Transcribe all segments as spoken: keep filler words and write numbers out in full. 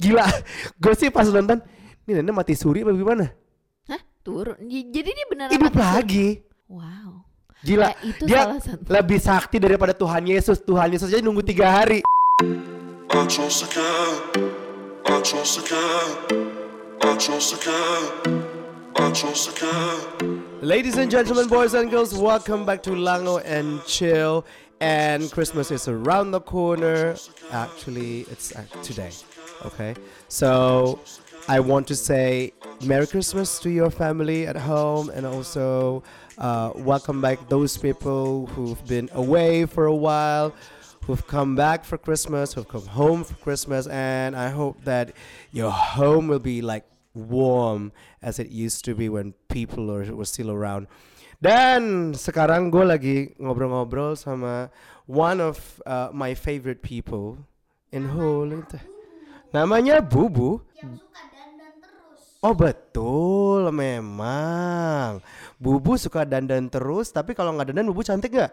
Gila, gue sih pas nonton, ini nenek mati suri apa gimana? Hah? Turun. J- Jadi dia beneran Hidup mati suri? lagi. Wow. Gila, Ya, itu dia salah satu. lebih sakti daripada Tuhan Yesus. Tuhan Yesus aja nunggu tiga hari. I trust the God. I trust the God. I trust the God. I trust the God. Ladies and gentlemen, boys and girls, welcome back to Lango and Chill. And Christmas is around the corner. Actually, it's uh, today. Okay, so I want to say Merry Christmas to your family at home, and also uh, welcome back those people who've been away for a while, who've come back for Christmas, who've come home for Christmas, and I hope that your home will be like warm as it used to be when people are, were still around. Dan sekarang gue lagi ngobrol-ngobrol sama one of uh, my favorite people in whole itu. Namanya Bubu. Yang suka dandan terus. Oh betul, memang Bubu suka dandan terus. Tapi kalau nggak dandan, Bubu cantik nggak?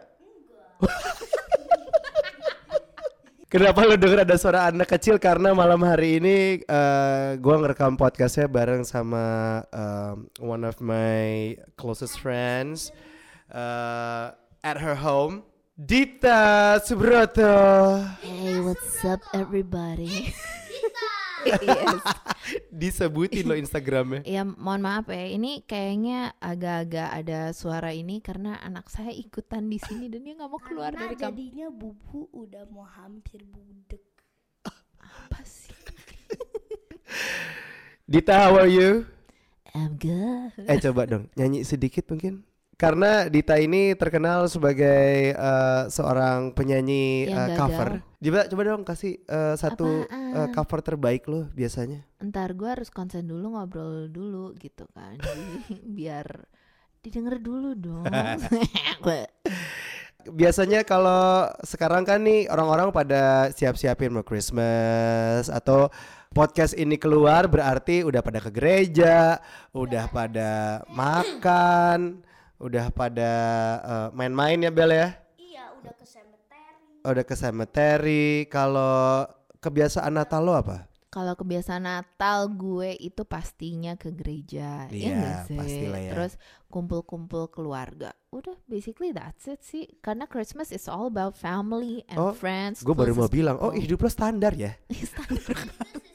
Kenapa lo denger ada suara anak kecil? Karena malam hari ini uh, gue ngerekam podcastnya bareng sama um, one of my closest friends uh, at her home, Dita Subroto. Hey, what's up everybody? Yes. Disebutin lo Instagramnya. Ya mohon maaf ya, ini kayaknya agak-agak ada suara ini karena anak saya ikutan di sini dan dia nggak mau keluar Karena dari kamar. jadinya Bubu udah mau hampir budek. Apa sih? Dita, how are you? I'm good. Eh coba dong nyanyi sedikit mungkin. Karena Dita ini terkenal sebagai uh, seorang penyanyi Yang uh, gagal. cover. Coba coba dong kasih uh, satu uh, Apaan? cover terbaik lo biasanya. Ntar gue harus konsen dulu, ngobrol dulu gitu kan. Jadi biar didengar dulu dong. Biasanya kalau sekarang kan nih orang-orang pada siap-siapin mau Christmas atau podcast ini keluar berarti udah pada ke gereja, udah pada makan, udah pada uh, main-main ya Bel ya. Iya, udah ke cemetery. Udah ke cemetery. Kalau kebiasaan Natal lo apa? Kalau kebiasaan Natal gue itu pastinya ke gereja. Iya, ya nggak sih? pastilah ya. Terus kumpul-kumpul keluarga. Udah basically that's it sih. Karena Christmas is all about family and Oh, friends. Gue baru mau closest bilang, oh people. hidup lo standar ya. Standar.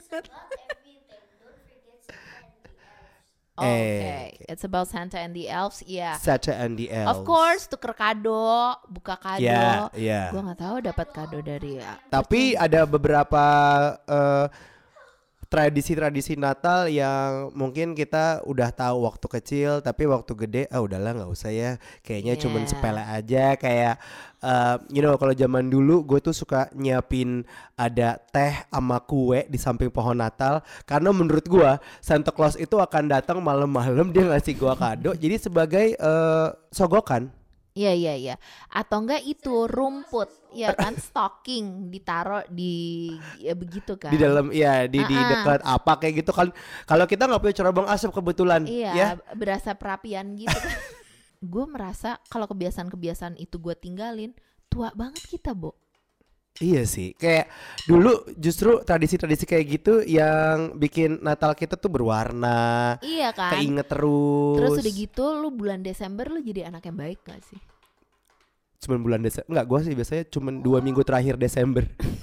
Eh, Okay, it's about Santa and the elves. Iya. Santa and the Elves. Of course, tuker kado, buka kado. Ya, ya. Gue nggak tahu dapat kado dari ya. Tapi ada beberapa uh, tradisi-tradisi Natal yang mungkin kita udah tahu waktu kecil, tapi waktu gede ah udahlah nggak usah ya. Kayaknya Yeah. cuman sepele aja. Kayak uh, you know kalau zaman dulu gue tuh suka nyiapin ada teh sama kue di samping pohon Natal karena menurut gue Santa Claus itu akan datang malam-malam dia ngasih gue kado. Jadi sebagai uh, sogokan. Iya iya iya. Atau enggak itu rumput, ya kan stocking ditaruh di ya begitu kan. Di dalam ya di di Ah-ah. dekat apa kayak gitu kan. Kalau kita nggak punya cerobong asap kebetulan Iya, ya. berasa perapian gitu kan. Gue merasa kalau kebiasaan-kebiasaan itu gue tinggalin, tua banget kita, Bo. Iya sih, kayak dulu justru tradisi-tradisi kayak gitu yang bikin Natal kita tuh berwarna, Iya kan. keinget terus. Terus udah gitu lu bulan Desember lu jadi anak yang baik gak sih? Cuman bulan Desember, enggak, gue sih biasanya cuman dua minggu terakhir Desember.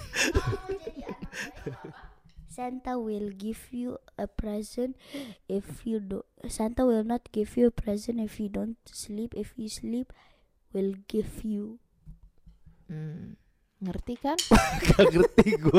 Santa will give you a present if you do. Santa will not give you a present if you don't sleep. If you sleep, will give you. Hmm. Ngerti kan? Gak ngerti gue.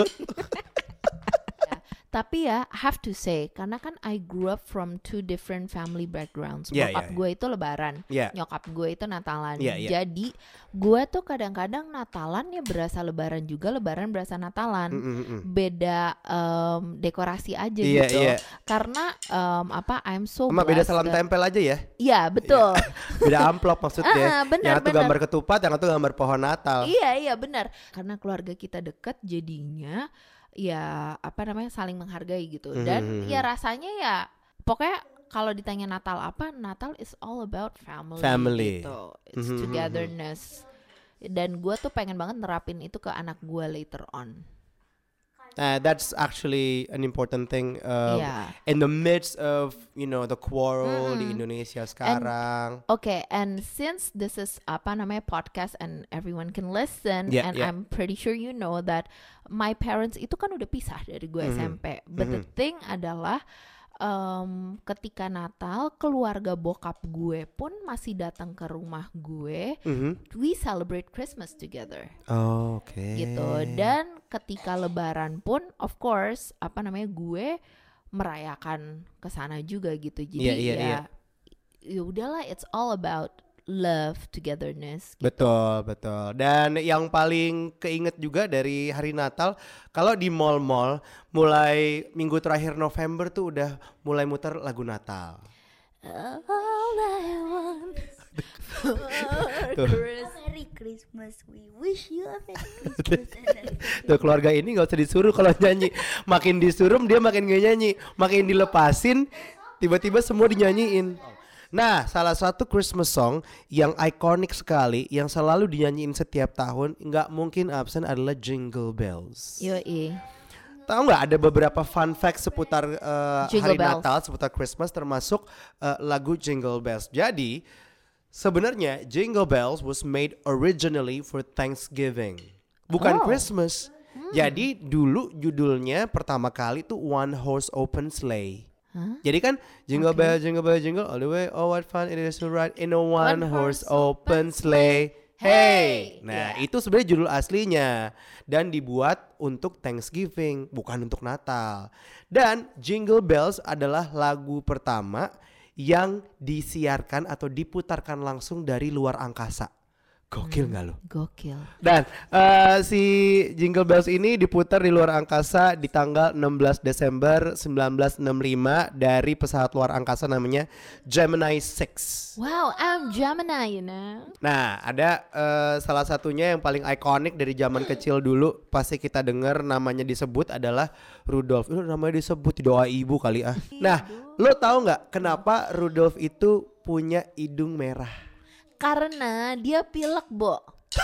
Tapi ya, have to say, karena kan I grew up from two different family backgrounds. Yeah, Bokap yeah, gue itu Lebaran, Yeah. nyokap gue itu Natalan. Yeah, yeah. Jadi gue tuh kadang-kadang Natalan ya berasa Lebaran juga, Lebaran berasa Natalan. Mm, mm, mm. Beda em, dekorasi aja Iya, gitu. iya. Karena em, apa? I'm so Sama beda blessed salam that- tempel aja ya. Iya betul. Beda amplop maksudnya. Ah, benar, yang satu benar. gambar ketupat, yang satu gambar pohon Natal. Iya iya benar. Karena keluarga kita dekat jadinya ya apa namanya saling menghargai gitu. Dan Mhm. ya rasanya ya pokoknya kalau ditanya Natal apa, Natal is all about family, Family. gitu. It's Mhm. togetherness. Dan gue tuh pengen banget nerapin itu ke anak gue later on. Uh, that's actually an important thing uh, Yeah. in the midst of you know the quarrel di Indonesia sekarang. Okay, and since this is apa namanya podcast and everyone can listen, Yeah, and yeah. I'm pretty sure you know that my parents itu kan udah pisah dari gue S M P. But the thing adalah um, ketika Natal keluarga bokap gue pun masih datang ke rumah gue. Mhm. We celebrate Christmas together. Oh, oke. Gitu. Dan ketika Lebaran pun, of course, apa namanya gue merayakan ke sana juga gitu. Jadi Iya, iya, ya, iya. ya udahlah, it's all about love, togetherness. Betul, betul. Dan yang paling keinget juga dari hari Natal, kalau di mall-mall mulai minggu terakhir November tuh udah mulai muter lagu Natal. All I want for Tuh. Christmas. Merry Christmas, we wish you a Merry Christmas. Tuh keluarga ini gak usah disuruh kalau nyanyi. Makin disuruh dia makin gak nyanyi. Makin dilepasin tiba-tiba semua dinyanyiin. Nah, salah satu Christmas song yang ikonik sekali, yang selalu dinyanyiin setiap tahun, nggak mungkin absen adalah Jingle Bells. Yoi. Tahu nggak ada beberapa fun fact seputar uh, Jingle hari Bells. Natal, seputar Christmas, termasuk uh, lagu Jingle Bells. Jadi sebenarnya Jingle Bells was made originally for Thanksgiving, bukan Oh. Christmas. Jadi dulu judulnya pertama kali tuh One Horse Open Sleigh. Jadi kan jingle bell, jingle bell, jingle all the way. Oh what fun it is to ride in a one, horse open sleigh. Hey, nah itu sebenarnya judul aslinya dan dibuat untuk Thanksgiving, bukan untuk Natal. Dan Jingle Bells adalah lagu pertama yang disiarkan atau diputarkan langsung dari luar angkasa. Gokil nggak lo? Gokil. Dan uh, si Jingle Bells ini diputar di luar angkasa di tanggal enam belas Desember seribu sembilan ratus enam puluh lima dari pesawat luar angkasa namanya Gemini six. Wow, I'm Gemini, you know. Nah, ada uh, salah satunya yang paling ikonik dari zaman kecil dulu pasti kita dengar namanya disebut adalah Rudolph. Itu namanya disebut doa ibu kali ah. Nah, lo tahu nggak kenapa Rudolph itu punya hidung merah? Karena dia pilek, Bo.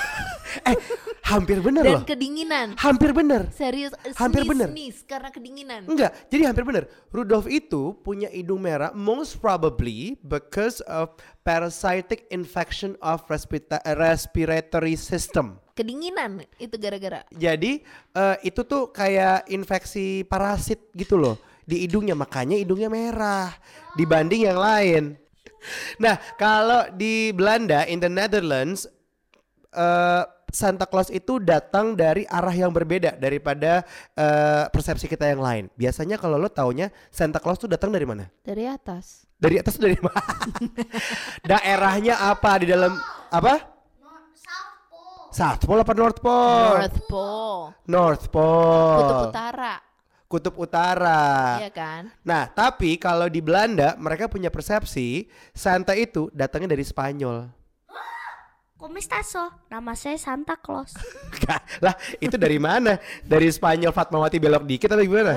Eh, hampir bener Dan loh. kedinginan. Hampir bener. Serius, Hampir bener. sneeze karena kedinginan. Enggak, jadi hampir benar. Rudolph itu punya hidung merah most probably because of parasitic infection of respita- respiratory system. Kedinginan itu gara-gara. Jadi eh, itu tuh kayak infeksi parasit gitu loh di hidungnya, makanya hidungnya merah dibanding yang lain. Nah, kalau di Belanda, in the Netherlands, uh, Santa Claus itu datang dari arah yang berbeda daripada uh, persepsi kita yang lain. Biasanya kalau lo taunya Santa Claus tuh datang dari mana? Dari atas. Dari atas tuh dari mana? Daerahnya apa di dalam apa? South Pole apa North Pole? North Pole. North Pole. Kutub Utara. Kutub Utara. Iya kan? Nah, tapi kalau di Belanda mereka punya persepsi Santa itu datangnya dari Spanyol. Komistaso, nama saya Santa Claus. Lah, itu dari mana? Dari Spanyol Fatmawati belok dikit atau gimana?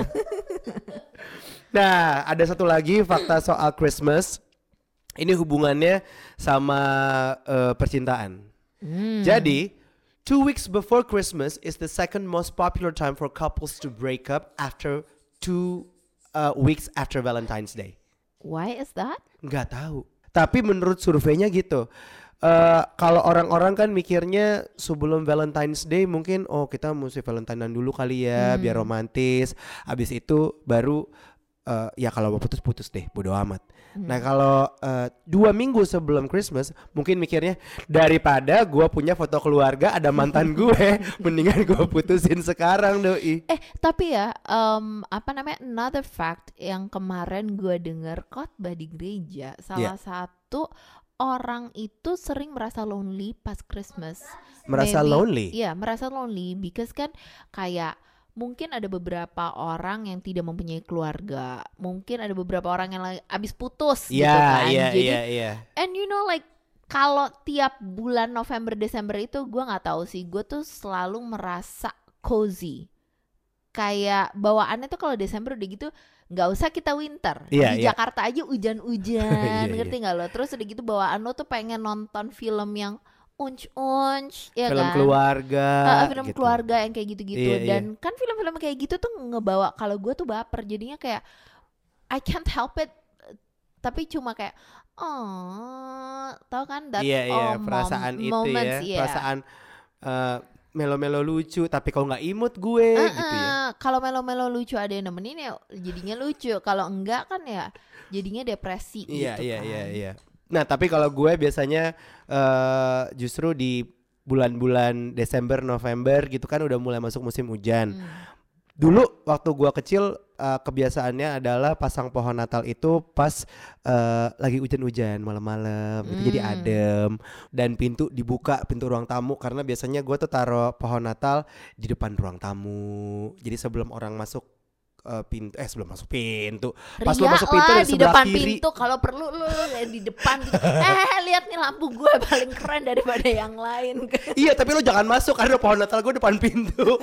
Nah, ada satu lagi fakta soal Christmas. Ini hubungannya sama uh, percintaan. Jadi, two weeks before Christmas is the second most popular time for couples to break up after two uh, weeks after Valentine's Day. Why is that? Nggak tahu. Tapi menurut surveinya gitu. Uh, kalau orang-orang kan mikirnya sebelum Valentine's Day mungkin oh kita mesti Valentinean dulu kali ya biar romantis. Abis itu baru uh, ya kalau mau putus-putus deh, bodo amat. Nah kalau uh, dua minggu sebelum Christmas mungkin mikirnya daripada gue punya foto keluarga ada mantan gue, mendingan gue putusin sekarang doi. Eh tapi ya um, apa namanya another fact yang kemarin gue dengar khotbah di gereja, salah Yeah. satu orang itu sering merasa lonely pas Christmas. Merasa Maybe- lonely? Iya merasa lonely because kan kayak mungkin ada beberapa orang yang tidak mempunyai keluarga, mungkin ada beberapa orang yang lagi abis putus gitu Iya kan. iya Jadi iya iya. and you know like kalau tiap bulan November Desember itu gue nggak tahu sih, gue tuh selalu merasa cozy. Kayak bawaannya tuh kalau Desember udah gitu nggak usah kita winter. Iya, Di iya. Jakarta aja hujan-hujan, Iya, ngerti iya. nggak lo? Terus udah gitu bawaan lo tuh pengen nonton film yang unch-unch, ya film kan? keluarga, Uh, film gitu. keluarga yang kayak gitu-gitu. Iya, iya. Dan kan film-film kayak gitu tuh ngebawa, kalau gue tuh baper, jadinya kayak I can't help it, tapi cuma kayak oh, tau kan that Iya iya, oh, perasaan mom- itu moments, ya, iya. perasaan uh, melo-melo lucu, tapi kalau nggak imut gue Uh-uh. gitu ya. Kalau melo-melo lucu ada yang nemenin ya jadinya lucu. Kalau enggak kan ya jadinya depresi Iya gitu iya kan. iya iya. Nah tapi kalau gue biasanya uh, justru di bulan-bulan Desember November gitu kan udah mulai masuk musim hujan. Hmm. Dulu waktu gua kecil uh, kebiasaannya adalah pasang pohon Natal itu pas uh, lagi hujan-hujan malam-malam, itu jadi Hmm. adem dan pintu dibuka, pintu ruang tamu, karena biasanya gua tuh taruh pohon Natal di depan ruang tamu. Jadi sebelum orang masuk uh, pintu, eh sebelum masuk pintu, pas lo Ria masuk pintu lah dari di sebelah depan kiri. pintu, kalau perlu lu di depan gitu. Eh lihat nih lampu gue paling keren daripada yang lain. Iya, tapi lo jangan masuk karena pohon Natal gue depan pintu.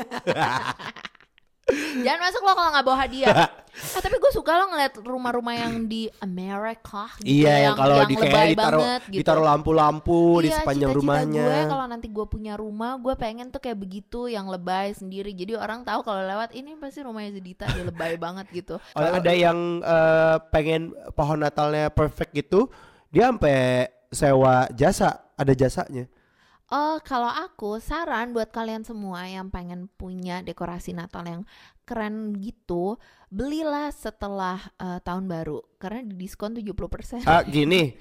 Jangan masuk lo kalau nggak bawa hadiah. Ah, tapi gue suka lo ngeliat rumah-rumah yang di Amerika gitu, Iya, yang kalau di kayak lebay ditaruh banget gitu. ditaruh lampu-lampu di Iya, sepanjang cita-cita rumahnya. gue kalau nanti gue punya rumah, gue pengen tuh kayak begitu, yang lebay sendiri. Jadi orang tahu kalau lewat ini pasti rumahnya Zedita, dia lebay banget gitu. Oh, ada yang uh, pengen pohon Natalnya perfect gitu, dia sampai sewa jasa, ada jasanya. Oh, kalau aku saran buat kalian semua yang pengen punya dekorasi Natal yang keren gitu, belilah setelah uh, tahun baru karena di diskon tujuh puluh persen. Ah, gini,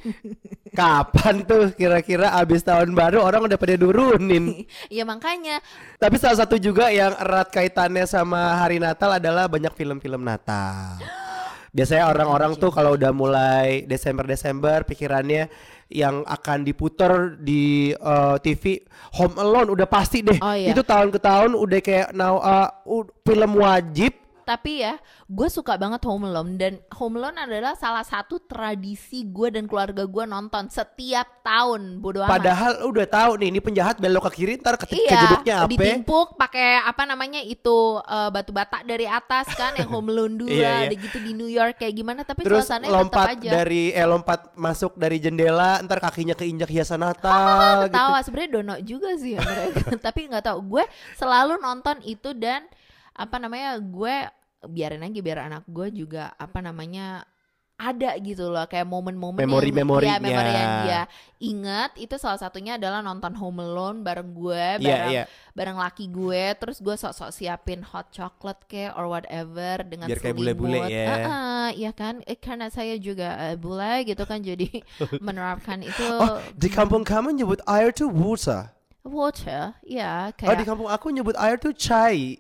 kapan tuh kira-kira abis tahun baru orang udah pada nurunin. Ya makanya. Tapi salah satu juga yang erat kaitannya sama hari Natal adalah banyak film-film Natal. Biasanya orang-orang tuh kalau udah mulai Desember-Desember pikirannya yang akan diputar di uh, T V Home Alone udah pasti deh. Oh, iya. Itu tahun ke tahun udah kayak now uh, uh, film wajib. Tapi ya, gue suka banget Home Alone, dan Home Alone adalah salah satu tradisi gue dan keluarga gue nonton setiap tahun. Bodo amat. Padahal udah tahu nih ini penjahat belok ke kiri ntar ke Iya, kejeduknya apa? ditimpuk pakai apa namanya itu uh, batu bata dari atas kan, yang Home Alone dua, Iya, iya. ada gitu di New York kayak gimana, tapi Terus suasananya tetap lompat aja. dari eh lompat masuk dari jendela ntar kakinya keinjak hiasan Natal gitu. Ketawa sebenarnya dono juga sih ya mereka. Tapi nggak tahu, gue selalu nonton itu, dan apa namanya, gue biarin aja biar anak gue juga apa namanya ada gitu loh, kayak momen-momen Memori-memorinya. yang, ya, memori yang dia ingat. Itu salah satunya adalah nonton Home Alone bareng gue, Iya, bareng iya. bareng laki gue. Terus gue sok-sok siapin hot chocolate kayak or whatever dengan Biar kayak selimut. bule-bule ya. Uh-uh, ya kan, eh, karena saya juga uh, bule gitu kan, jadi menerapkan itu. Oh, di kampung kamu nyebut air tuh water. Water, ya Oh, di kayak. kampung aku nyebut air tuh chai.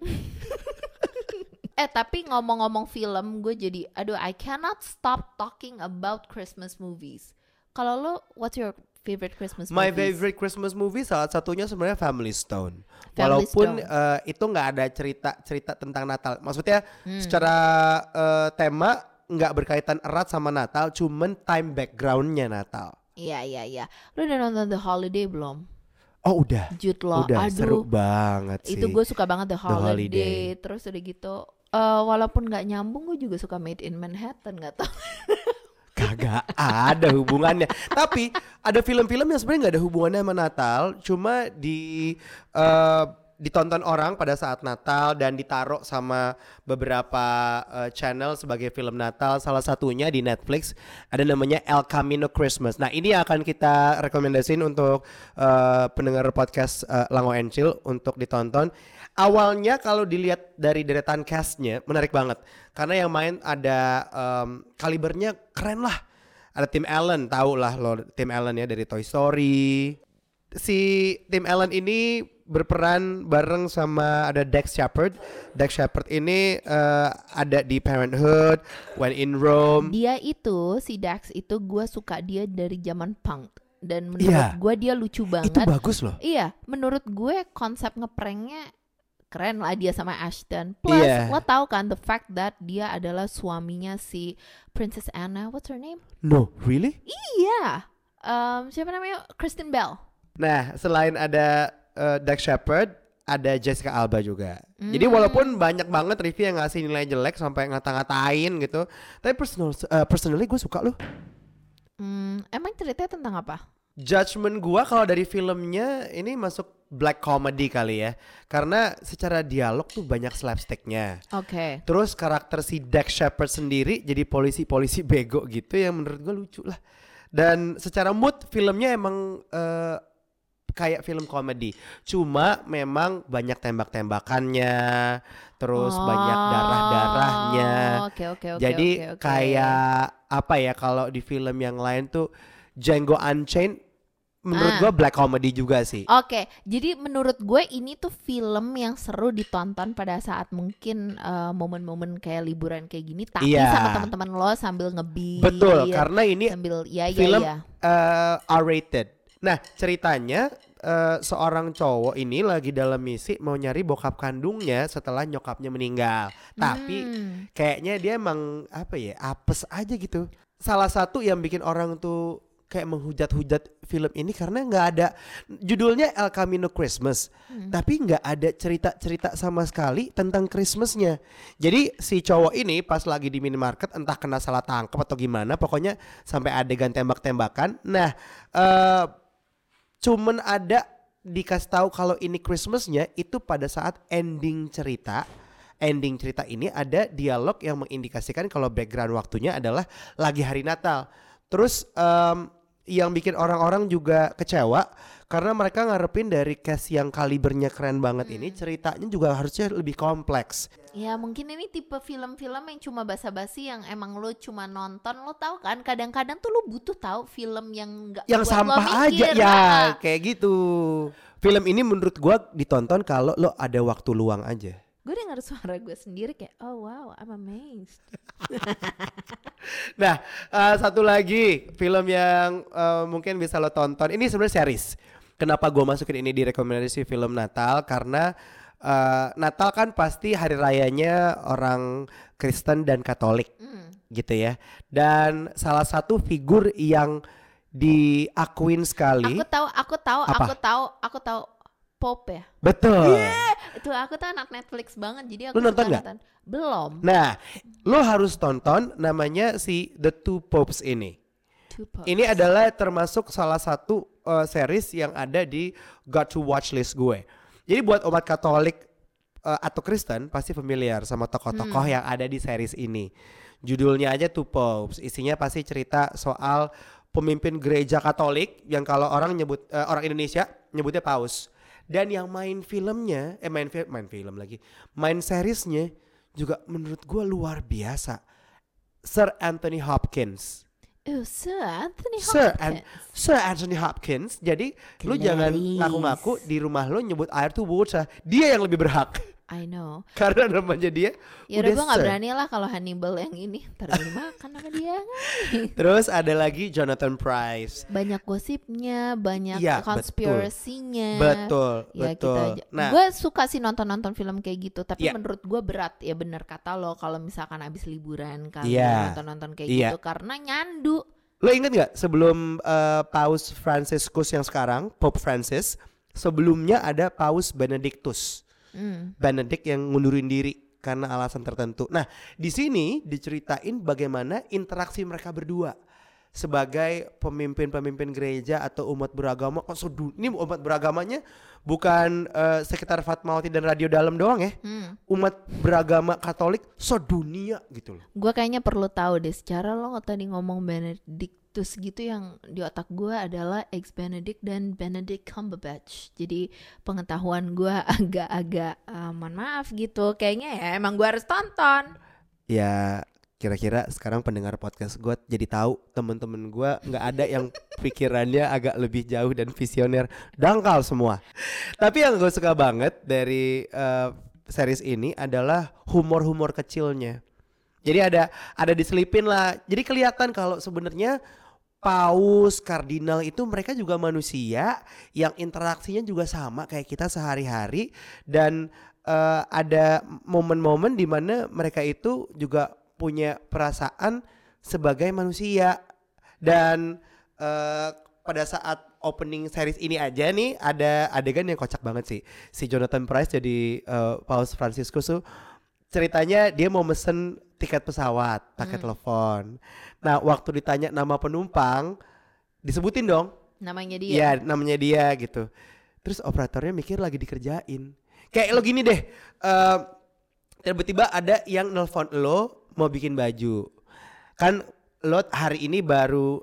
Eh tapi ngomong-ngomong film, gue jadi aduh, I cannot stop talking about Christmas movies. Kalau lo, what's your favorite Christmas My movies? favorite Christmas movie salah satunya sebenarnya Family Stone. Family Walaupun Stone. uh, itu nggak ada cerita-cerita tentang Natal. Maksudnya Hmm. secara uh, tema nggak berkaitan erat sama Natal, cuman time backgroundnya Natal. Iya iya iya. Lo udah nonton The Holiday belum? Oh udah, Jude Law. udah Aduh, seru banget sih. itu gue suka banget The Holiday. Holiday. Terus udah gitu, eh, walaupun nggak nyambung, gue juga suka Made in Manhattan. Nggak tau. Kagak ada hubungannya. Tapi ada film-film yang sebenarnya nggak ada hubungannya sama Natal, cuma di eh, ditonton orang pada saat Natal dan ditaruh sama beberapa eh, channel sebagai film Natal. Salah satunya di Netflix ada namanya El Camino Christmas. Nah ini akan kita rekomendasiin untuk eh, pendengar podcast eh, Lango and Chill untuk ditonton. Awalnya kalau dilihat dari deretan castnya menarik banget, karena yang main ada um, kalibernya keren lah. Ada Tim Allen, tau lah lo Tim Allen ya dari Toy Story. Si Tim Allen ini berperan bareng sama ada Dax Shepard. Dax Shepard ini uh, ada di Parenthood, When in Rome. Dia itu, si Dax itu, gue suka dia dari zaman punk. Dan menurut Iya. gue dia lucu banget. Itu bagus loh. Iya, menurut gue konsep ngepranknya keren lah dia sama Ashton. Plus, Iya. lo tau kan the fact that dia adalah suaminya si Princess Anna. What's her name? No, really? Iya, um, siapa namanya? Kristen Bell. Nah, selain ada uh, Dax Shepard, ada Jessica Alba juga. Hmm. Jadi walaupun banyak banget review yang ngasih nilai jelek sampai ngata-ngatain gitu, tapi personal, uh, personally gue suka loh. Hmm, emang ceritanya tentang apa? Judgement gua kalau dari filmnya ini masuk black comedy kali ya. Karena secara dialog tuh banyak slapsticknya. Oke. Terus karakter si Dax Shepard sendiri jadi polisi-polisi bego gitu yang menurut gua lucu lah. Dan secara mood filmnya emang uh, kayak film komedi. Cuma memang banyak tembak-tembakannya, terus Oh, banyak darah-darahnya. Oke oke oke. Jadi oke, oke. kayak apa ya, kalau di film yang lain tuh Django Unchained menurut Ah. gua black comedy juga sih. Oke, jadi menurut gue ini tuh film yang seru ditonton pada saat mungkin eh, momen-momen kayak liburan kayak gini, tapi Iya. sama teman-teman lo sambil ngebeat. Betul, karena ini sambil ya ya film ya. uh, R-rated. Nah, ceritanya uh, seorang cowok ini lagi dalam misi mau nyari bokap kandungnya setelah nyokapnya meninggal. Tapi Hmm. kayaknya dia emang apa ya, apes aja gitu. Salah satu yang bikin orang tuh kayak menghujat-hujat film ini karena nggak ada judulnya El Camino Christmas, Hmm. tapi nggak ada cerita-cerita sama sekali tentang Christmasnya. Jadi si cowok ini pas lagi di minimarket entah kena salah tangkap atau gimana, pokoknya sampai adegan tembak-tembakan. Nah, eh cuman ada dikasih tahu kalau ini Christmasnya itu pada saat ending cerita. Ending cerita ini ada dialog yang mengindikasikan kalau background waktunya adalah lagi hari Natal. Terus em, yang bikin orang-orang juga kecewa karena mereka ngarepin dari cast yang kalibernya keren banget ini, ceritanya juga harusnya lebih kompleks. Ya mungkin ini tipe film-film yang cuma basa-basi yang emang lo cuma nonton. Lo tahu kan kadang-kadang tuh lo butuh tahu film yang nggak Yang buat lo sampah aja mikir. ya, Ah. kayak gitu. Film ini menurut gua ditonton kalau lo ada waktu luang aja. Gue denger suara gue sendiri kayak oh wow I'm amazed. Nah, uh, satu lagi film yang uh, mungkin bisa lo tonton. Ini sebenarnya series. Kenapa gue masukin ini di rekomendasi film Natal? Karena uh, Natal kan pasti hari rayanya orang Kristen dan Katolik, Hmm. gitu ya. Dan salah satu figur yang diakuin sekali. Aku tahu, aku tahu, Apa? aku tahu, aku tahu Pope ya. Betul. Itu aku tuh anak Netflix banget jadi aku Lu nonton suka nggak? nonton. Belum. Nah, lo harus tonton, namanya si The Two Popes ini. Two Popes. Ini adalah termasuk salah satu uh, series yang ada di got to watch list gue. Jadi buat umat Katolik uh, atau Kristen pasti familiar sama tokoh-tokoh Hmm. yang ada di series ini. Judulnya aja Two Popes. Isinya pasti cerita soal pemimpin gereja Katolik yang kalau orang nyebut uh, orang Indonesia nyebutnya paus. Dan yang main filmnya, eh main film, main film lagi, main seriesnya juga menurut gue luar biasa. Sir Anthony Hopkins. Oh, Sir Anthony Sir, Hopkins. An- Sir Anthony Hopkins. Jadi lu jangan Clarice. ngaku-ngaku di rumah lu nyebut air tuh water. Dia yang lebih berhak I know. karena namanya dia Ya udah udah gue nggak Sir. berani lah kalau Hannibal yang ini ntar dimakan sama dia. Terus ada lagi Jonathan Pryce. Banyak gosipnya, banyak Iya, konspirasinya. Betul, Ya betul. kita aja. Nah, Gue suka sih nonton-nonton film kayak gitu, tapi Iya. menurut gue berat ya bener kata lo kalau misalkan abis liburan kan Iya. nonton-nonton kayak Iya. gitu karena nyandu. lo inget nggak sebelum uh, Paus Franciscus yang sekarang, Pope Francis, sebelumnya ada Paus Benedictus. Hmm. Benedict yang ngundurin diri karena alasan tertentu. Nah, di sini diceritain bagaimana interaksi mereka berdua sebagai pemimpin-pemimpin gereja atau umat beragama. Oh, sedu- ini umat beragamanya bukan eh, sekitar Fatmawati dan Radio Dalam doang ya. Hmm. Umat beragama Katolik sedunia gitu loh. Gue kayaknya perlu tahu deh secara lo tadi ngomong Benedictus gitu yang di otak gue adalah ex Benedict dan Benedict Cumberbatch. Jadi pengetahuan gue agak-agak uh, mohon maaf gitu. Kayaknya ya emang gue harus tonton. Ya kira-kira sekarang pendengar podcast gue jadi tahu temen-temen gue nggak ada yang pikirannya agak lebih jauh dan visioner, dangkal semua. Tapi yang gue suka banget dari uh, series ini adalah humor-humor kecilnya. Jadi ada ada diselipin lah. Jadi kelihatan kalau sebenarnya paus, kardinal itu mereka juga manusia yang interaksinya juga sama kayak kita sehari-hari dan uh, ada momen-momen di mana mereka itu juga punya perasaan sebagai manusia. Dan uh, pada saat opening series ini aja nih ada adegan yang kocak banget sih. Si Jonathan Pryce jadi uh, Paus Franciscus tuh ceritanya dia mau mesen tiket pesawat pakai Hmm. telepon. Nah waktu ditanya nama penumpang disebutin dong Namanya dia. Iya, namanya dia gitu. Terus operatornya mikir lagi dikerjain. Kayak lo gini deh, uh, tiba-tiba ada yang nelpon lo mau bikin baju. Kan lo hari ini baru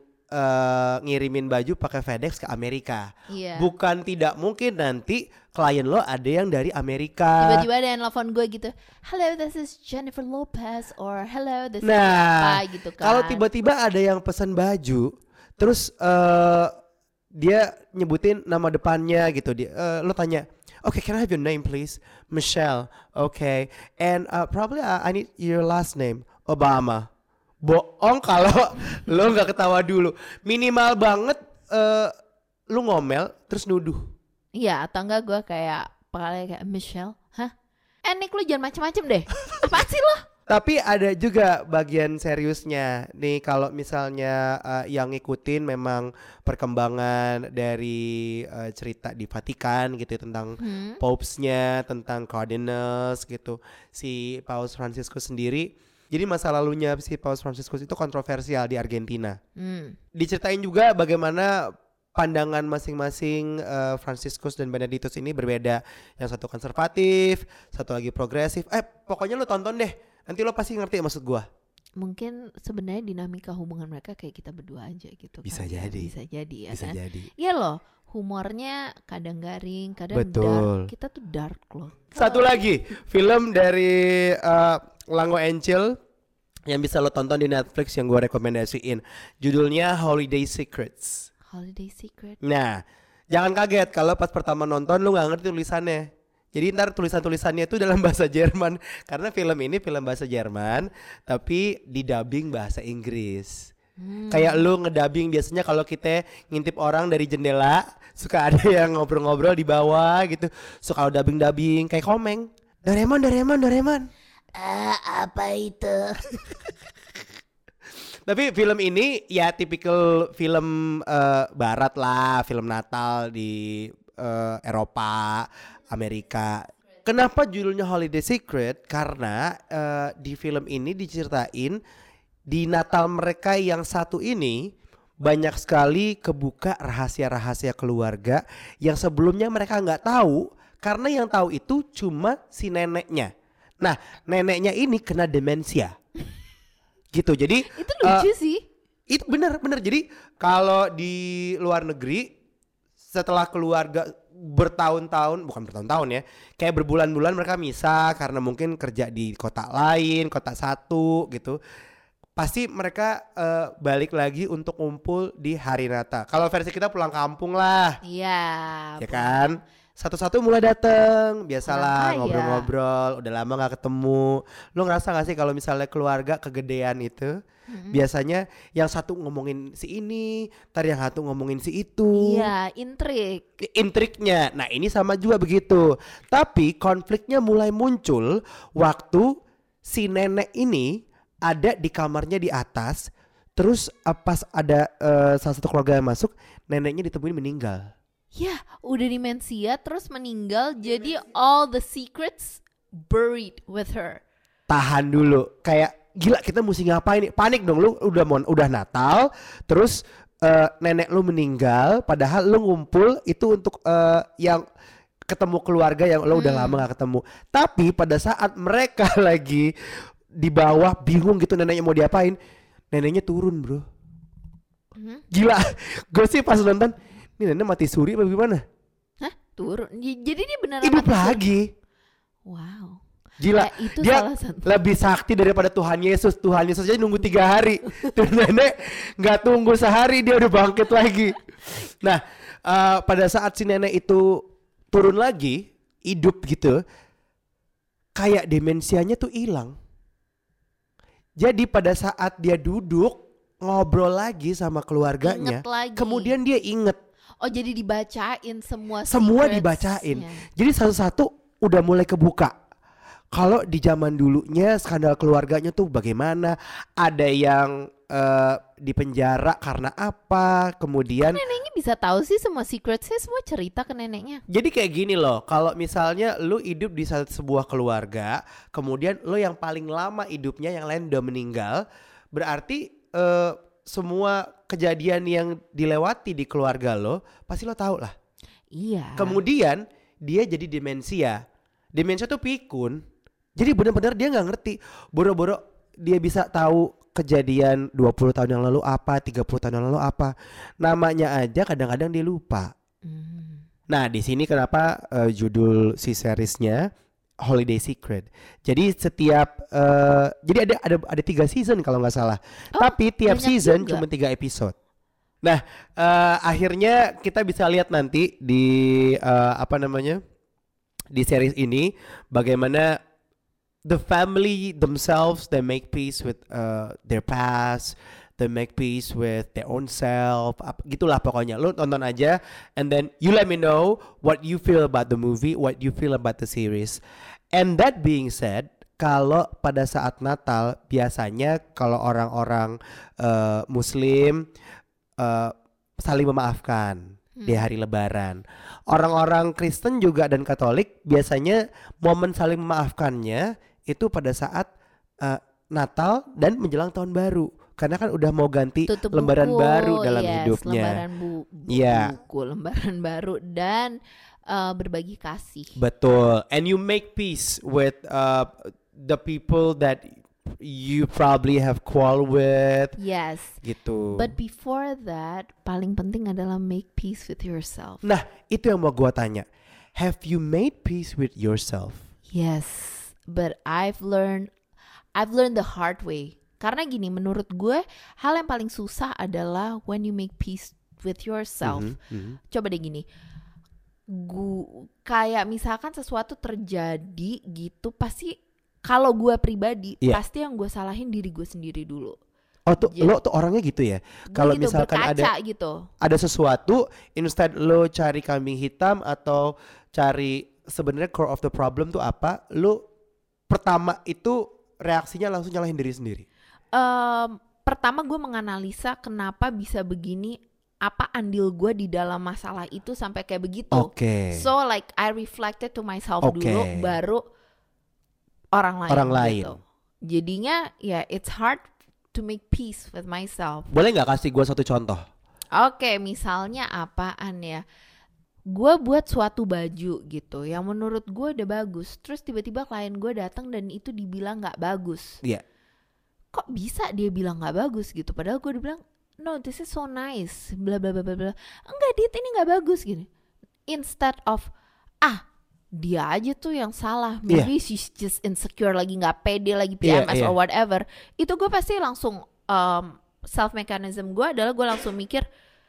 uh, ngirimin baju pakai FedEx ke Amerika. Iya. Bukan tidak mungkin nanti klien lo ada yang dari Amerika. Tiba-tiba ada yang nelfon gue gitu, hello this is Jennifer Lopez, or hello this is Nah, apa gitu kan. kalau tiba-tiba ada yang pesan baju, terus uh, dia nyebutin nama depannya gitu, dia, uh, lo tanya, okay, can I have your name please? Michelle, okay, and uh, probably uh, I need your last name, Obama. Bohong kalau lo nggak ketawa dulu. Minimal banget uh, lo ngomel terus nuduh. Iya, atau enggak gue kayak paling kayak Michelle, hah? Eh Nick, lu jangan macem-macem deh. Apaan sih lo? Tapi ada juga bagian seriusnya nih, kalau misalnya uh, yang ngikutin memang perkembangan dari uh, cerita di Vatikan gitu ya, tentang Hmm. popesnya, tentang cardinals gitu. Si Paus Franciscus sendiri, jadi masa lalunya si Paus Franciscus itu kontroversial di Argentina. Hmm. Diceritain juga bagaimana pandangan masing-masing uh, Franciscus dan Benedictus ini berbeda. Yang satu konservatif, satu lagi progresif. Eh pokoknya lo tonton deh, nanti lo pasti ngerti maksud gua. Mungkin sebenarnya dinamika hubungan mereka kayak kita berdua aja gitu. Bisa kan. jadi. Bisa jadi ya Bisa kan. jadi. Iya loh, humornya kadang garing, kadang Betul. dark. Kita tuh dark loh. Satu lagi film dari uh, Lango and Chill yang bisa lo tonton di Netflix yang gua rekomendasiin. Judulnya Holiday Secrets. Holiday Secret. Nah, jangan kaget kalau pas pertama nonton lu nggak ngerti tulisannya. Jadi ntar tulisan-tulisannya itu dalam bahasa Jerman. Karena film ini film bahasa Jerman, tapi didubbing bahasa Inggris. Hmm. Kayak lu ngedubbing biasanya kalau kita ngintip orang dari jendela, suka ada yang ngobrol-ngobrol di bawah gitu. Suka dubbing-dubbing kayak Komeng. Doraemon, Doraemon, Doraemon. Ah, apa itu? Tapi film ini ya tipikal film uh, barat lah, film Natal di uh, Eropa, Amerika. Kenapa judulnya Holiday Secret? Karena uh, di film ini diceritain di Natal mereka yang satu ini banyak sekali kebuka rahasia-rahasia keluarga yang sebelumnya mereka nggak tahu, karena yang tahu itu cuma si neneknya. Nah, neneknya ini kena demensia. Gitu. Jadi Itu lucu uh, sih. itu benar-benar. Jadi kalau di luar negeri setelah keluarga bertahun-tahun, bukan bertahun-tahun ya, kayak berbulan-bulan mereka misah karena mungkin kerja di kota lain, kota satu gitu. Pasti mereka uh, balik lagi untuk ngumpul di hari Natal. Kalau versi kita pulang kampung lah. Iya. Ya kan? Satu-satu mulai dateng, biasalah Orang kaya. ngobrol-ngobrol, udah lama gak ketemu. Lo ngerasa gak sih kalau misalnya keluarga kegedean itu, Mm-mm. biasanya yang satu ngomongin si ini, ntar yang satu ngomongin si itu. Iya, intrik. Intriknya, nah ini sama juga begitu. Tapi konfliknya mulai muncul waktu si nenek ini ada di kamarnya di atas. Terus uh, pas ada uh, salah satu keluarga yang masuk, neneknya ditemuin meninggal. Ya, udah demensia terus meninggal, jadi all the secrets buried with her. Tahan dulu, kayak gila kita mesti ngapain nih? Panik dong, lu udah mau udah Natal, terus uh, nenek lu meninggal, padahal lu ngumpul itu untuk uh, yang ketemu keluarga yang lu udah Hmm. lama gak ketemu. Tapi pada saat mereka lagi di bawah bingung gitu neneknya mau diapain, neneknya turun bro. Mhm. Gila, gue sih pas nonton, ini nenek mati suri apa gimana? Hah? Turun? J- Jadi dia beneran Hidup mati suri? lagi. Wow. Gila, Eh, itu dia salah satu. lebih sakti daripada Tuhan Yesus. Tuhan Yesus aja nunggu tiga hari. Tuh nenek nggak tunggu sehari dia udah bangkit lagi. Nah, uh, pada saat si nenek itu turun lagi, hidup gitu, kayak demensianya tuh hilang. Jadi pada saat dia duduk ngobrol lagi sama keluarganya, Ingat lagi. kemudian dia inget. Oh, jadi dibacain semua Semua secrets-nya. dibacain. Jadi satu-satu udah mulai kebuka. Kalau di zaman dulunya skandal keluarganya tuh bagaimana? Ada yang uh, di penjara karena apa? Kemudian Neneknya bisa tahu sih semua secretsnya, semua cerita ke neneknya. jadi kayak gini loh. Kalau misalnya lu hidup di satu sebuah keluarga, kemudian lu yang paling lama hidupnya, yang lain udah meninggal, berarti uh, semua kejadian yang dilewati di keluarga lo, pasti lo tahu lah. Iya. Kemudian dia jadi demensia. Demensia tuh pikun. Jadi benar-benar dia nggak ngerti. Boro-boro dia bisa tahu kejadian dua puluh tahun yang lalu apa, tiga puluh tahun yang lalu apa. Namanya aja kadang-kadang dia lupa. Hmm. Nah, di sini kenapa uh, judul si seriesnya Holiday Secret. Jadi setiap uh, jadi ada ada ada tiga season kalau nggak salah. Oh, Tapi tiap banyak season juga. cuma tiga episode. Nah, uh, akhirnya kita bisa lihat nanti di uh, apa namanya di series ini bagaimana the family themselves, they make peace with uh, their past, they make peace with their own self, ap- gitulah pokoknya. Lu tonton aja, and then you let me know what you feel about the movie, what you feel about the series. And that being said, kalau pada saat Natal biasanya kalau orang-orang uh, Muslim uh, saling memaafkan di hari Lebaran. Orang-orang Kristen juga dan Katolik biasanya momen saling memaafkannya itu pada saat uh, Natal dan menjelang tahun baru. Karena kan udah mau ganti Tutup lembaran buku, baru dalam yes, hidupnya. Lembaran bu- bu- Iya. buku, lembaran baru dan uh, berbagi kasih. Betul. And you make peace with uh, the people that you probably have quarrel with. Yes. Gitu. But before that, paling penting adalah make peace with yourself. Nah, itu yang mau gua tanya. Have you made peace with yourself? Yes, but I've learned I've learned the hard way. Karena gini, menurut gue hal yang paling susah adalah when you make peace with yourself. Mhm, mhm. Coba deh gini, gu kayak misalkan sesuatu terjadi gitu, pasti kalau gue pribadi Iya. pasti yang gue salahin diri gue sendiri dulu. Oh tuh, Jadi- lo tuh orangnya gitu ya? Gue Kalau gitu, misalkan berkaca ada gitu. ada sesuatu, instead lo cari kambing hitam atau cari sebenarnya core of the problem tuh apa, lo pertama itu reaksinya langsung nyalahin diri sendiri. Em, pertama gue menganalisa kenapa bisa begini, apa andil gue di dalam masalah itu sampai kayak begitu. Oke. So like I reflected to myself Oke. dulu, baru orang lain. Orang lain. gitu. Jadinya ya it's hard to make peace with myself. Boleh nggak kasih gue satu contoh? Oke, misalnya apaan ya? Gue buat suatu baju gitu yang menurut gue udah bagus, terus tiba-tiba klien gue datang dan itu dibilang nggak bagus. Iya. Kok bisa dia bilang nggak bagus gitu? Padahal gue udah bilang, no, this is so nice, bla bla bla bla bla. Enggak, dit, ini nggak bagus gini. Instead of ah dia aja tuh yang salah, maybe she's just insecure lagi, nggak pede lagi, P M S Iya, iya. or whatever. Itu gue pasti langsung um, self mechanism gue adalah gue langsung mikir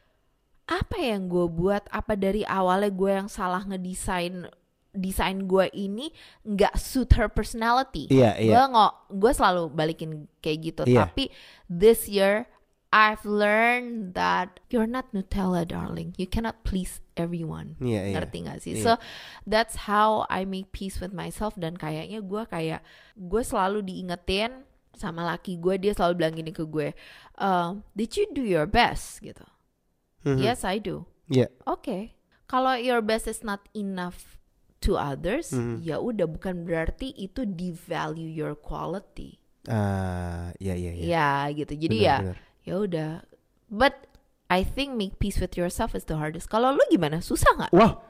apa yang gue buat, apa dari awalnya gue yang salah ngedesain desain gue ini nggak suit her personality. Iya, iya. Gue nggak, gue selalu balikin kayak gitu. Iya. Tapi this year I've learned that you're not Nutella, darling. You cannot please everyone. Iya, iya. Ngerti gak sih? Iya. So that's how I make peace with myself. Dan kayaknya gue kayak gue selalu diingetin sama laki gue, dia selalu bilang gini ke gue, uh, did you do your best gitu? Mhm. Yes, I do. Iya. Oke, kalau your best is not enough to others, Mhm. ya udah, bukan berarti itu devalue your quality. Ah, iya iya iya. Ya gitu. Jadi Benar, ya benar. ya udah. But I think make peace with yourself is the hardest. Kalau lu gimana? Susah nggak? Wah,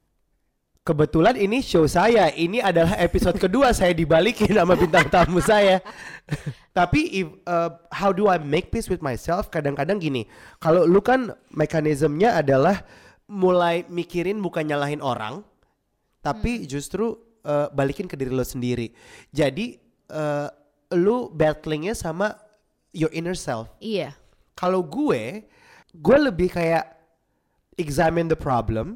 kebetulan ini show saya. Ini adalah episode kedua saya dibalikin sama bintang tamu saya. Tapi if, uh, how do I make peace with myself? Kadang-kadang gini, kalau lu kan mekanismenya adalah mulai mikirin bukan nyalahin orang, tapi justru uh, balikin ke diri lo sendiri. Jadi uh, lu battlingnya sama your inner self. Iya. Kalau gue, gue lebih kayak examine the problem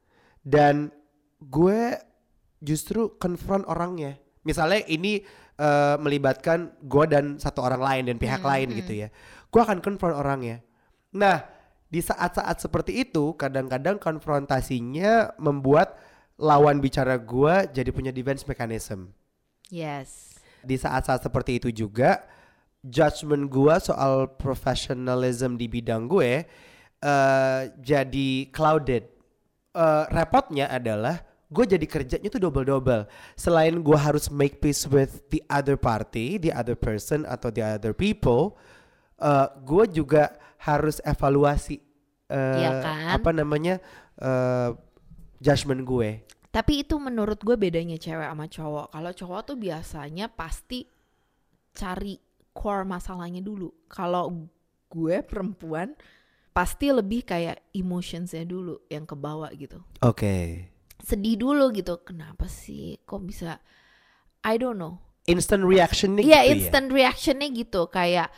dan gue justru confront orangnya. Misalnya ini uh, melibatkan gue dan satu orang lain dan pihak Hmm, lain hmm. gitu ya. Gue akan confront orangnya. Nah, di saat-saat seperti itu kadang-kadang konfrontasinya membuat lawan bicara gue jadi punya defense mechanism. Yes. Di saat-saat seperti itu juga judgement gue soal professionalism di bidang gue uh, jadi clouded. Uh, repotnya adalah gue jadi kerjanya tuh double-double. Selain gue harus make peace with the other party, the other person atau the other people, uh, gue juga harus evaluasi uh, Iya kan? apa namanya uh, judgement gue. Tapi itu menurut gue bedanya cewek sama cowok. Kalau cowok tuh biasanya pasti cari core masalahnya dulu. Kalau gue perempuan pasti lebih kayak emotionsnya dulu yang kebawa gitu. Oke. Okay. Sedih dulu gitu. Kenapa sih? Kok bisa? I don't know. Instant reaction nih Iya, gitu instant ya? reactionnya gitu. Kayak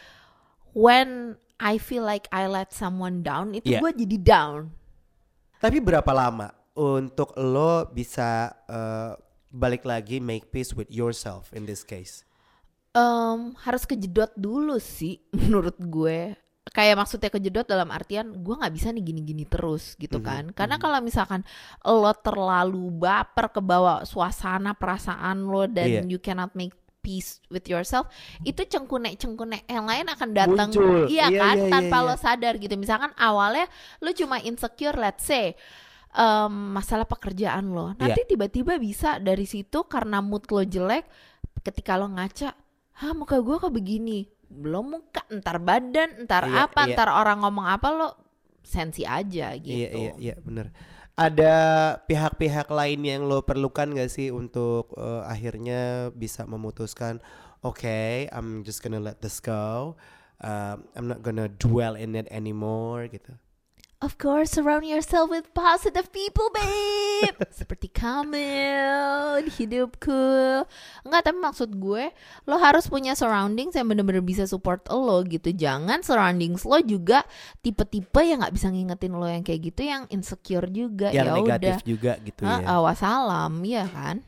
when I feel like I let someone down, itu Yeah. gue jadi down. Tapi berapa lama untuk lo bisa uh, balik lagi make peace with yourself in this case? Um, harus kejedot dulu sih menurut gue. Kayak maksudnya kejedot dalam artian gue nggak bisa nih gini-gini terus gitu kan. Mm-hmm. Karena kalau misalkan lo terlalu baper ke bawah suasana perasaan lo dan Iya. you cannot make peace with yourself, itu cengkunek-cengkunek yang lain akan datang. Muncul. Iya Iya, kan, iya, tanpa iya, lo iya. sadar gitu. Misalkan awalnya lo cuma insecure, let's say um, masalah pekerjaan lo. Nanti Iya. tiba-tiba bisa dari situ karena mood lo jelek, ketika lo ngaca, hah muka gue kok begini, belum muka, entar badan, entar Iya, apa, iya. entar orang ngomong apa, lo sensi aja gitu. Iya iya iya benar. Ada pihak-pihak lain yang lo perlukan gak sih untuk uh, akhirnya bisa memutuskan, okay, I'm just gonna let this go, um, I'm not gonna dwell in it anymore gitu. Of course, surround yourself with positive people, babe. Seperti Kamil, hidupku. Enggak, tapi maksud gue, lo harus punya surroundings yang bener-bener bisa support lo gitu. Jangan surroundings lo juga tipe-tipe yang nggak bisa ngingetin lo yang kayak gitu, yang insecure juga. Yang Ya negatif udah. juga gitu ya. Ah, wassalam, ya kan?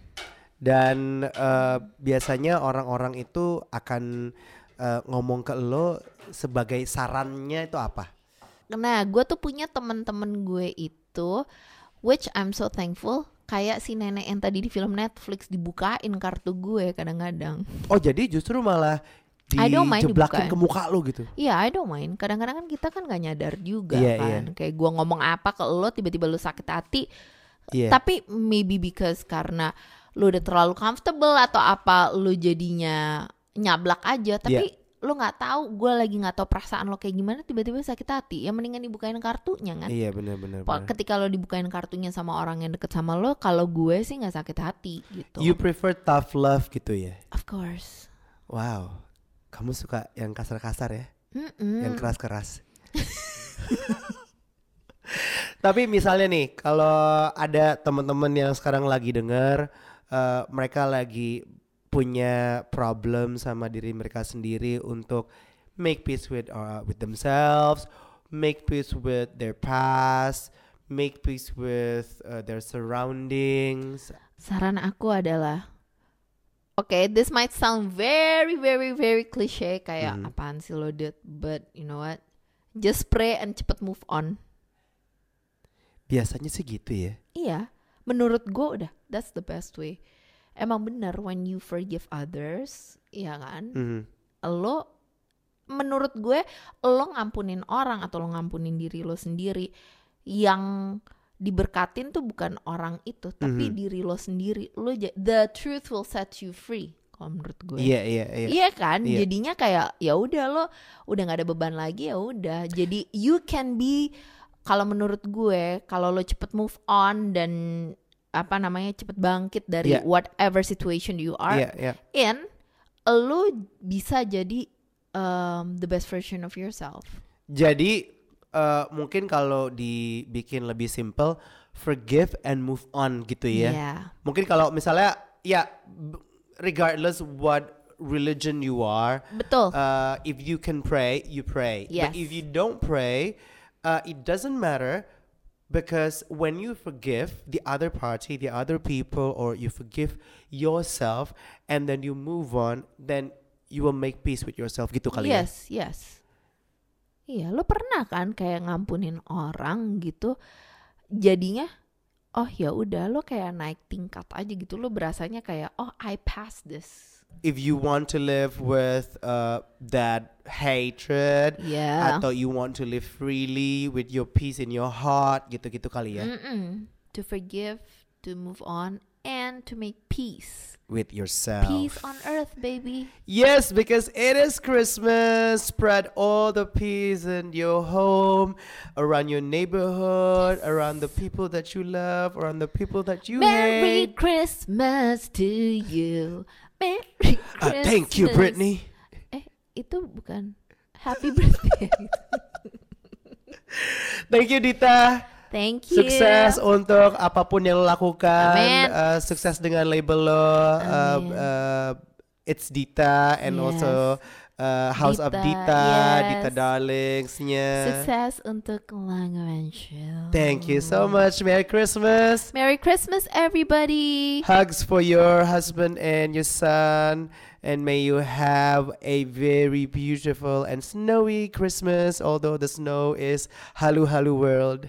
Dan uh, biasanya orang-orang itu akan uh, ngomong ke lo sebagai sarannya itu apa? Nah, gue tuh punya temen-temen gue itu, which I'm so thankful, kayak si nenek yang tadi di film Netflix dibukain kartu gue kadang-kadang. Oh jadi justru malah I don't mind dijeblakin dibukain. ke muka lo gitu? Iya, I don't mind. Kadang-kadang kan kita kan gak nyadar juga Iya, kan. iya. Kayak gue ngomong apa ke lo, tiba-tiba lo sakit hati. Iya. Tapi maybe because karena lo udah terlalu comfortable atau apa, lo jadinya nyablak aja. Tapi lo nggak tahu, gue lagi nggak tahu perasaan lo kayak gimana, tiba-tiba sakit hati. Ya mendingan dibukain kartunya kan. Iya benar-benar. Po- Ketika lo dibukain kartunya sama orang yang deket sama lo, kalau gue sih nggak sakit hati gitu. You prefer tough love gitu ya? Of course. Wow, kamu suka yang kasar-kasar ya? Mm-mm. Yang keras-keras. Tapi misalnya nih, kalau ada teman-teman yang sekarang lagi dengar, uh, mereka lagi punya problem sama diri mereka sendiri untuk make peace with uh, with themselves, make peace with their past, make peace with uh, their surroundings. Saran aku adalah, okay, this might sound very very very cliche, kayak Mhm. apaan sih lo Dut, but you know what, just pray and cepet move on. Biasanya sih gitu ya. Iya, menurut gue udah that's the best way. Emang bener, when you forgive others, iya kan, Mhm. lo, menurut gue, lo ngampunin orang atau lo ngampunin diri lo sendiri, yang diberkatin tuh bukan orang itu, tapi Mhm. diri lo sendiri. Lo ja- the truth will set you free, kalau menurut gue. Iya iya iya. Iya kan, Iya. jadinya kayak ya udah, lo udah nggak ada beban lagi, ya udah. Jadi you can be, kalau menurut gue, kalau lo cepet move on dan apa namanya cepet bangkit dari Iya. whatever situation you are Iya iya. in, lo bisa jadi um, the best version of yourself. Jadi uh, mungkin kalau dibikin lebih simple, forgive and move on gitu ya. Yeah. Mungkin kalau misalnya ya b- regardless what religion you are, Betul. uh, if you can pray, you pray. Yes. But if you don't pray, uh, it doesn't matter, because when you forgive the other party, the other people, or you forgive yourself and then you move on, then you will make peace with yourself gitu kali ya. Yes, yes. Iya, lo pernah kan kayak ngampunin orang gitu, jadinya oh ya udah, lo kayak naik tingkat aja gitu, lo berasanya kayak oh I passed this. If you want to live with uh, that hatred, Yeah. atau you want to live freely with your peace in your heart, gitu-gitu kali ya. Mm-mm. To forgive, to move on, and to make peace. With yourself. Peace on earth, baby. Yes, because it is Christmas. Spread all the peace in your home, around your neighborhood, around the people that you love, around the people that you Merry hate. Christmas to you. Merry Christmas. Uh, thank you, Brittany. Eh, itu bukan Happy Birthday. Thank you, Dita. Thank you. Sukses untuk apapun yang lo lakukan. Amin. Uh, sukses dengan label lo. Uh, Amin. uh, it's Dita and Yes. also uh, House of Dita, Dita, yes. Dita Darlingsnya. Sukses untuk Lango and Chill. Thank you so much. Merry Christmas. Merry Christmas, everybody. Hugs for your husband and your son. And may you have a very beautiful and snowy Christmas, although the snow is halu halu world.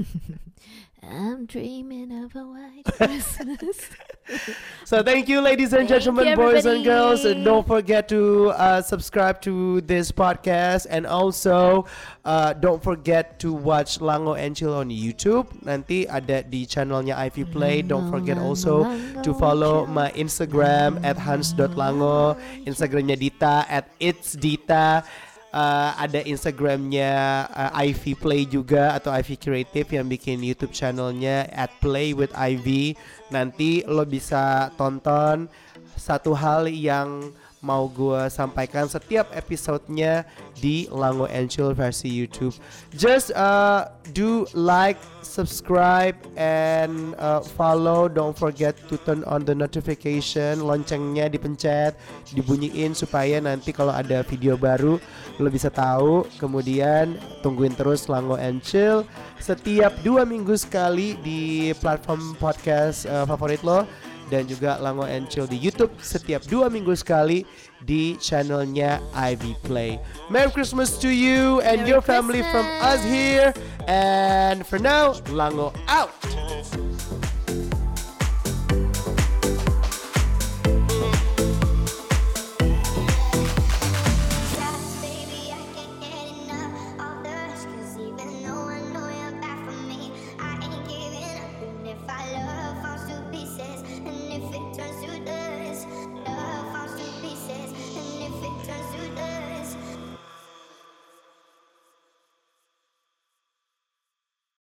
I'm dreaming of a white Christmas. So thank you, ladies and Thank gentlemen, you, boys and girls. And everybody. don't forget to uh, subscribe to this podcast. And also, uh, don't forget to watch Lango and Chill on YouTube. Nanti ada di channelnya Ivy Play. Don't forget also to follow my Instagram at hans dot lango. Instagramnya Dita at it's Dita. Uh, ada Instagramnya uh, Ivy Play juga atau Ivy Creative yang bikin YouTube channelnya at Play with Ivy. Nanti lo bisa tonton satu hal yang mau gue sampaikan setiap episodenya di Lango and Chill versi YouTube. Just uh, do like, subscribe, and uh, follow. Don't forget to turn on the notification. Loncengnya dipencet, dibunyiin supaya nanti kalau ada video baru lo bisa tahu. Kemudian tungguin terus Lango and Chill setiap dua minggu sekali di platform podcast uh, favorit lo. Dan juga Lango and Chill di YouTube setiap dua minggu sekali di channelnya Ivy Play. Merry Christmas to you and Merry your family from us Christmas. here. And for now, Lango out.